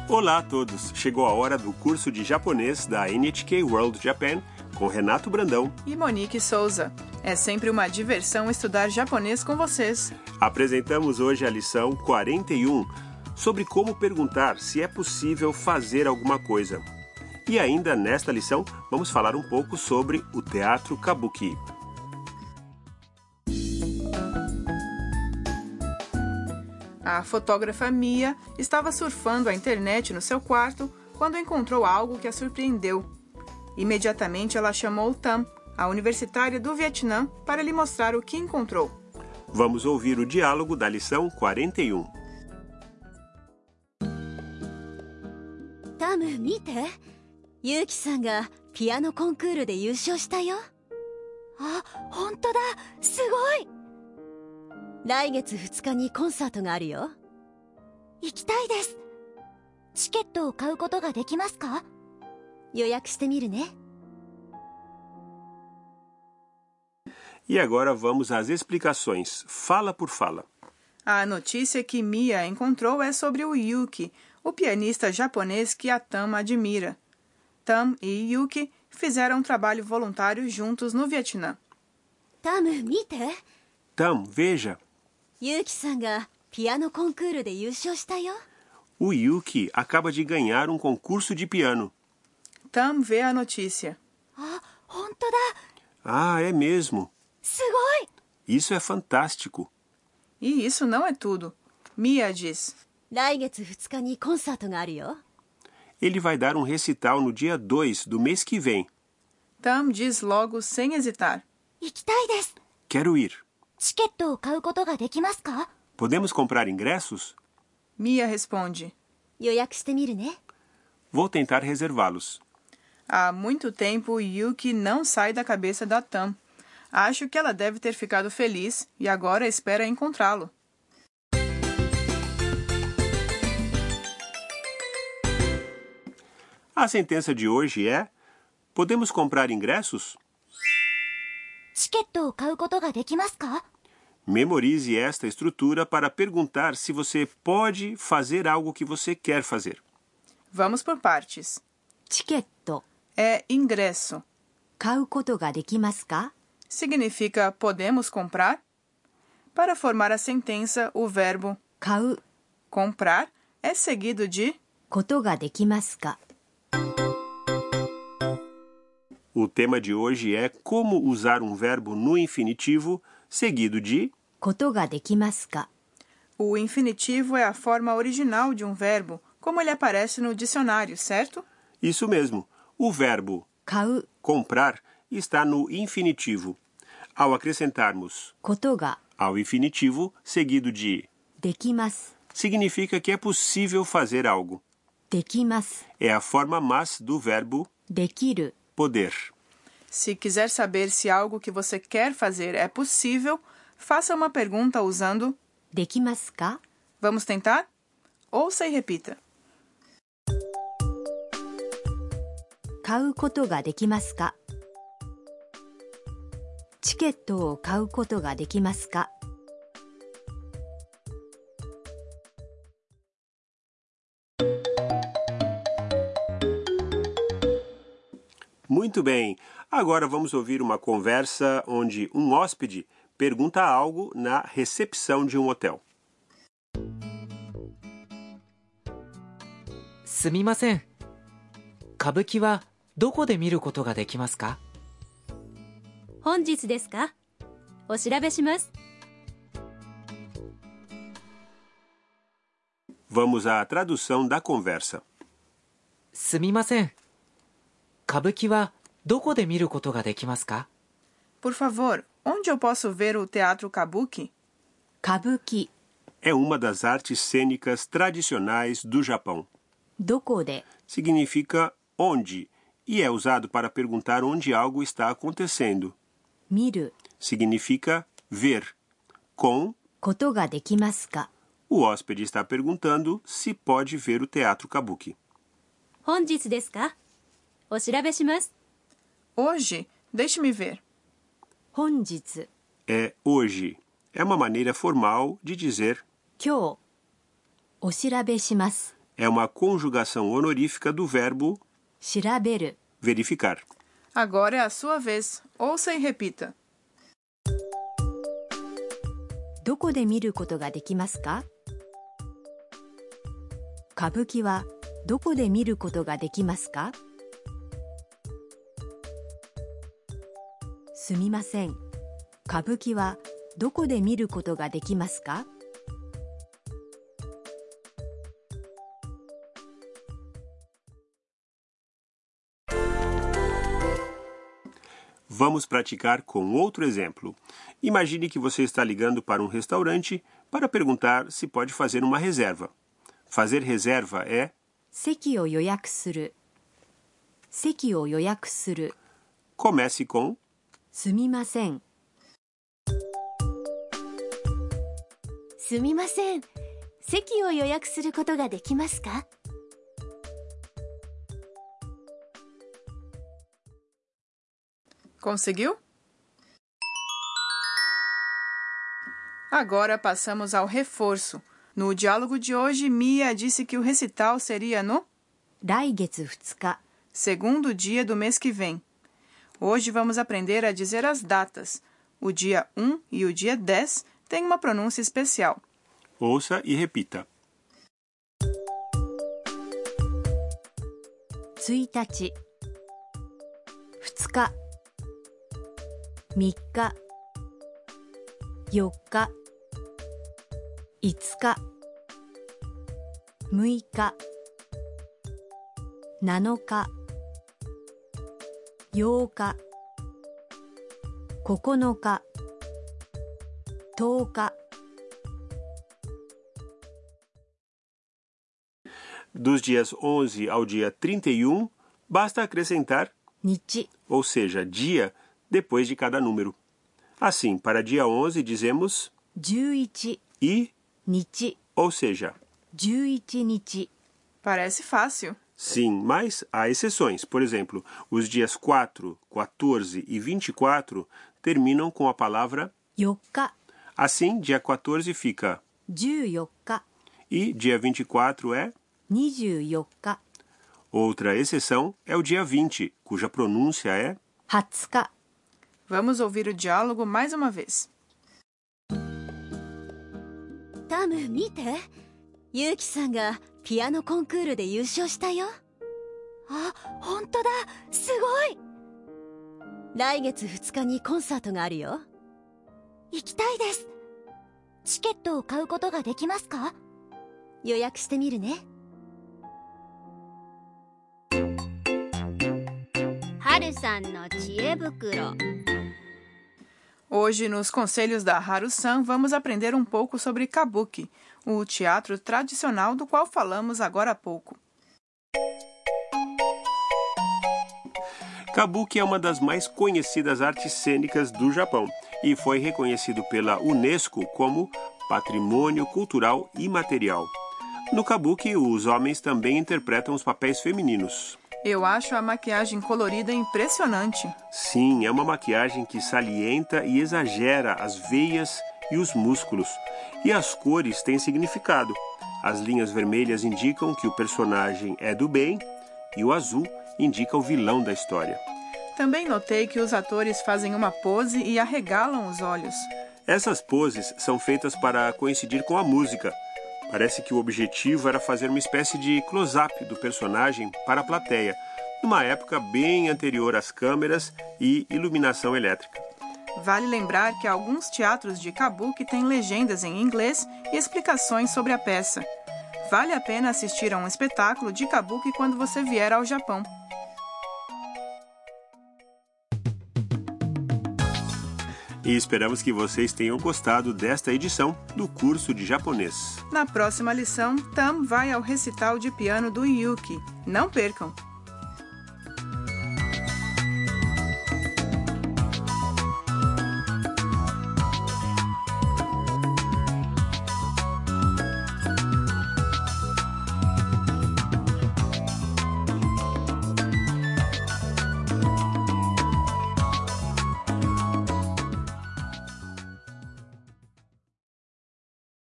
Olá a todos! Chegou a hora do curso de japonês da NHK World Japan com Renato Brandão e Monique Souza. É sempre uma diversão estudar japonês com vocês. Apresentamos hoje a lição 41 sobre como perguntar se é possível fazer alguma coisa. E ainda nesta lição vamos falar um pouco sobre o teatro Kabuki. A fotógrafa Mia estava surfando a internet no seu quarto quando encontrou algo que a surpreendeu. Imediatamente ela chamou Tam, a universitária do Vietnã, para lhe mostrar o que encontrou. Vamos ouvir o diálogo da lição 41. Tam, 見て。ユウキさんがピアノコンクールで優勝したよ。あ、本当だ。すごい。来月2日にコンサートがあるよ。行きたいです。チケットを買うことができますか？予約してみるね。 E agora vamos às explicações, fala por fala. A notícia que Mia encontrou é sobre o Yuki, o pianista japonês que a Tam admira. Tam e Yuki fizeram um trabalho voluntário juntos no Vietnã. Tam, 見て。 Tam, veja. ユウキさんがピアノコンクールで優勝したよ。 O Yuki acaba de ganhar um concurso de piano. Tam vê a notícia. あ、本当だ。 Ah, é mesmo. すごい。 Isso é fantástico. E isso não é tudo. Mia diz. 来月2日にコンサートがあるよ。 Ele vai dar um recital no dia 2 do mês que vem. Tam diz logo sem hesitar. 行きたいです。 Quero ir. チケットを買うことができますか？ Podemos comprar ingressos? Mia responde. 予約してみるね。 Vou tentar reservá-los. Há muito tempo, Yuki não sai da cabeça da Tam. Acho que ela deve ter ficado feliz e agora espera encontrá-lo. A sentença de hoje é: podemos comprar ingressos? チケットを買うことができますか？ Memorize esta estrutura para perguntar se você pode fazer algo que você quer fazer. Vamos por partes. チケット É ingresso. 買うことができますか？ Significa podemos comprar? Para formar a sentença, o verbo 買う comprar é seguido de ことができますか？ O tema de hoje é como usar um verbo no infinitivo seguido de ことができますか？ O infinitivo é a forma original de um verbo, como ele aparece no dicionário, certo? isso mesmo. O verbo 買う comprar está no infinitivo. Ao acrescentarmos ことが ao infinitivo seguido de できます。 significa que é possível fazer algo. できます。 É a forma mas do verbo できる poder. Se quiser saber se algo que você quer fazer é possível, faça uma pergunta usando できますか？ Vamos tentar? Ouça e repita. 買うことができますか？チケットを買うことができますか？ Muito bem. Agora vamos ouvir uma conversa onde um hóspede pergunta algo na recepção de um hotel. すみません。歌舞伎はどこで見ることができますか？ 本日ですか？お調べします。 Vamos à tradução da conversa. すみません。歌舞伎はどこで見ることができますか？ Por favor, onde eu posso ver o teatro Kabuki? 歌舞伎 É uma das artes cênicas tradicionais do Japão. どこで Significa onde e é usado para perguntar onde algo está acontecendo. 見る Significa ver. Com, ことができますか？ o hóspede está perguntando se pode ver o teatro Kabuki. 本日ですか？お調べします。 Hoje, deixe-me ver. 本日 É hoje. É uma maneira formal de dizer 今日お調べします。 é uma conjugação honorífica do verbo 調べる verificar. Agora é a sua vez. Ouça e repita. どこで見ることができますか歌舞伎はどこで見ることができますかすみません。歌舞伎はどこで見ることができますか Vamos praticar com outro exemplo. Imagine que você está ligando para um restaurante para perguntar se pode fazer uma reserva. Fazer reserva é 席を予約する。席を予約する。 comece com すみません。すみません。席を予約することができますか Conseguiu? Agora passamos ao reforço. No diálogo de hoje, Mia disse que o recital seria no 来月2日。 segundo dia do mês que vem. Hoje vamos aprender a dizer as datas. O dia 1 e o dia 10 têm uma pronúncia especial. ouça e repita. 1日、2日、3日、4日、5日、6日、7日、8日、9日、10日。 Dos dias 11 ao dia 31, basta acrescentar 日、 ou seja, dia, depois de cada número. Assim, para dia 11 dizemos 11 e, 日、 ou seja, 11日。 Parece fácil. sim, mas há exceções. Por exemplo, os dias 4, 14 e 24 terminam com a palavra 4日、 assim, dia 14 fica 14日、 e dia 24 é 24日、 outra exceção é o dia 20, cuja pronúncia é 20日。 Vamos ouvir o diálogo mais uma vez. タム見て、ユウキさんがピアノコンクールで優勝したよ。あ、本当だ、すごい。来月2日にコンサートがあるよ。行きたいです。チケットを買うことができますか？予約してみるね。はるさんの知恵袋。 Hoje, nos conselhos da Haru-san, vamos aprender um pouco sobre kabuki, o teatro tradicional do qual falamos agora há pouco. Kabuki é uma das mais conhecidas artes cênicas do Japão e foi reconhecido pela Unesco como Patrimônio Cultural Imaterial. No Kabuki, os homens também interpretam os papéis femininos. Eu acho a maquiagem colorida impressionante. Sim, é uma maquiagem que salienta e exagera as veias e os músculos. E as cores têm significado. As linhas vermelhas indicam que o personagem é do bem e o azul indica o vilão da história. Também notei que os atores fazem uma pose e arregalam os olhos. Essas poses são feitas para coincidir com a música. Parece que o objetivo era fazer uma espécie de close-up do personagem para a plateia, numa época bem anterior às câmeras e iluminação elétrica. Vale lembrar que alguns teatros de kabuki têm legendas em inglês e explicações sobre a peça. Vale a pena assistir a um espetáculo de kabuki quando você vier ao Japão. E esperamos que vocês tenham gostado desta edição do curso de japonês. Na próxima lição, Tam vai ao recital de piano do Yuki. Não percam!